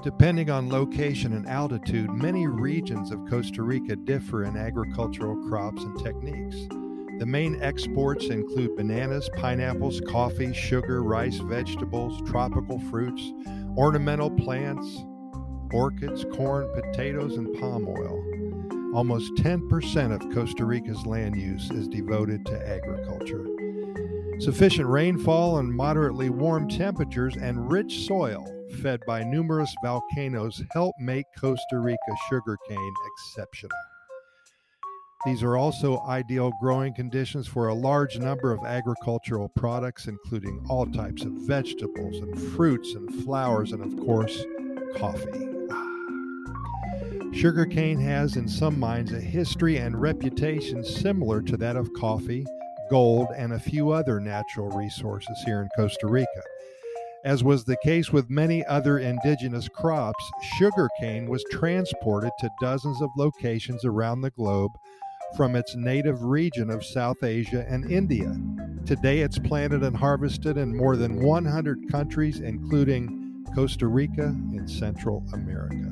Depending on location and altitude, many regions of Costa Rica differ in agricultural crops and techniques. The main exports include bananas, pineapples, coffee, sugar, rice, vegetables, tropical fruits, ornamental plants, orchids, corn, potatoes, and palm oil. Almost 10% of Costa Rica's land use is devoted to agriculture. Sufficient rainfall and moderately warm temperatures and rich soil fed by numerous volcanoes help make Costa Rica sugarcane exceptional. These are also ideal growing conditions for a large number of agricultural products, including all types of vegetables and fruits and flowers, and of course, coffee. Sugarcane has, in some minds, a history and reputation similar to that of coffee, gold, and a few other natural resources here in Costa Rica. As was the case with many other indigenous crops, sugarcane was transported to dozens of locations around the globe from its native region of South Asia and India. Today it's planted and harvested in more than 100 countries, including Costa Rica and Central America.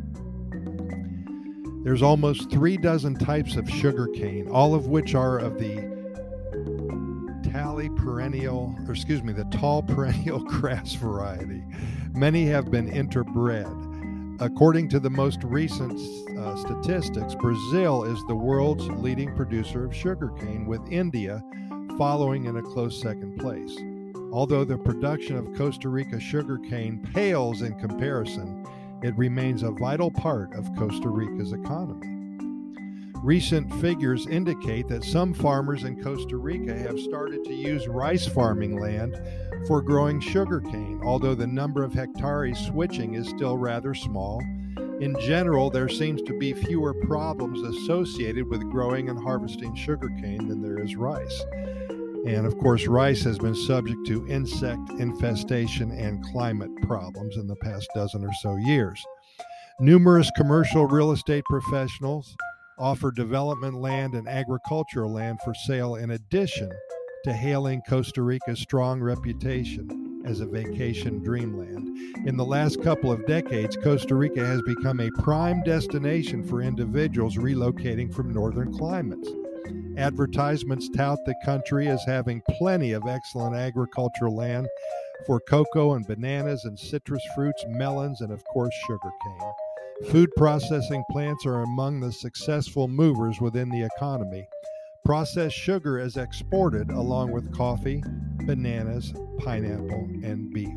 There's almost 3 dozen types of sugarcane, all of which are of the tall perennial grass variety. Many have been interbred. According to the most recent statistics, Brazil is the world's leading producer of sugarcane, with India following in a close second place. Although the production of Costa Rica sugarcane pales in comparison, it remains a vital part of Costa Rica's economy. Recent figures indicate that some farmers in Costa Rica have started to use rice farming land for growing sugarcane, although the number of hectares switching is still rather small. In general, there seems to be fewer problems associated with growing and harvesting sugarcane than there is rice. And of course, rice has been subject to insect infestation and climate problems in the past dozen or so years. Numerous commercial real estate professionals offer development land and agricultural land for sale, in addition to hailing Costa Rica's strong reputation as a vacation dreamland. In the last couple of decades, Costa Rica has become a prime destination for individuals relocating from northern climates. Advertisements tout the country as having plenty of excellent agricultural land for cocoa and bananas and citrus fruits, melons, and of course sugarcane. Food processing plants are among the successful movers within the economy. Processed sugar is exported along with coffee, bananas, pineapple, and beef.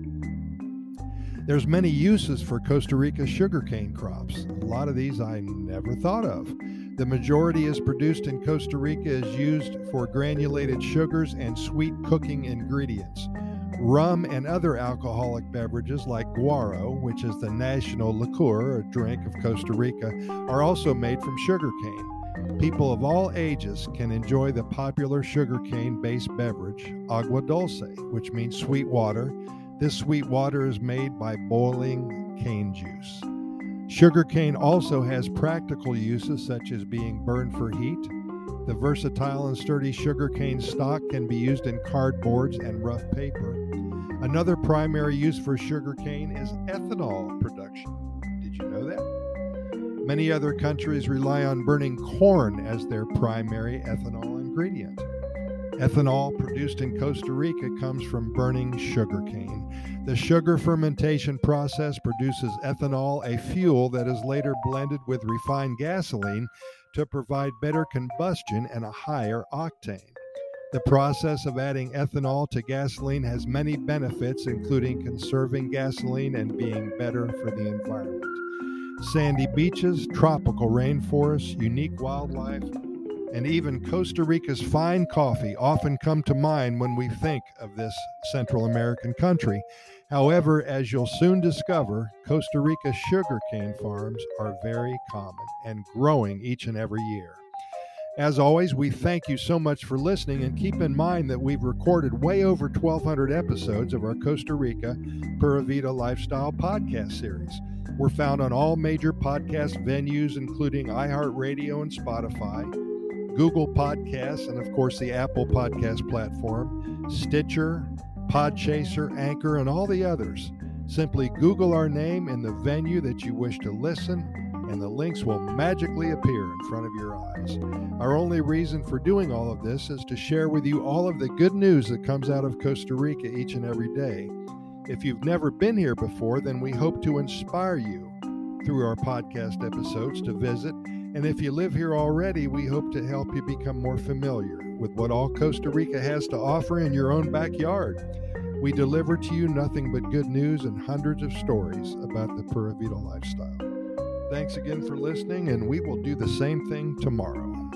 There's many uses for Costa Rica's sugarcane crops. A lot of these I never thought of. The majority is produced in Costa Rica is used for granulated sugars and sweet cooking ingredients. Rum and other alcoholic beverages like guaro, which is the national liqueur or drink of Costa Rica, are also made from sugarcane. People of all ages can enjoy the popular sugarcane-based beverage, agua dulce, which means sweet water. This sweet water is made by boiling cane juice. Sugarcane also has practical uses such as being burned for heat. The versatile and sturdy sugarcane stalk can be used in cardboards and rough paper. Another primary use for sugarcane is ethanol production. Did you know that? Many other countries rely on burning corn as their primary ethanol ingredient. Ethanol produced in Costa Rica comes from burning sugarcane. The sugar fermentation process produces ethanol, a fuel that is later blended with refined gasoline to provide better combustion and a higher octane. The process of adding ethanol to gasoline has many benefits, including conserving gasoline and being better for the environment. Sandy beaches, tropical rainforests, unique wildlife, and even Costa Rica's fine coffee often come to mind when we think of this Central American country. However, as you'll soon discover, Costa Rica's sugarcane farms are very common and growing each and every year. As always, we thank you so much for listening, and keep in mind that we've recorded way over 1,200 episodes of our Costa Rica Pura Vida Lifestyle podcast series. We're found on all major podcast venues, including iHeartRadio and Spotify, Google Podcasts, and of course the Apple Podcast platform, Stitcher, Podchaser, Anchor, and all the others. Simply Google our name in the venue that you wish to listen, and the links will magically appear in front of your eyes. Our only reason for doing all of this is to share with you all of the good news that comes out of Costa Rica each and every day. If you've never been here before, then we hope to inspire you through our podcast episodes to visit. And if you live here already, we hope to help you become more familiar with what all Costa Rica has to offer in your own backyard. We deliver to you nothing but good news and hundreds of stories about the Pura Vida lifestyle. Thanks again for listening, and we will do the same thing tomorrow.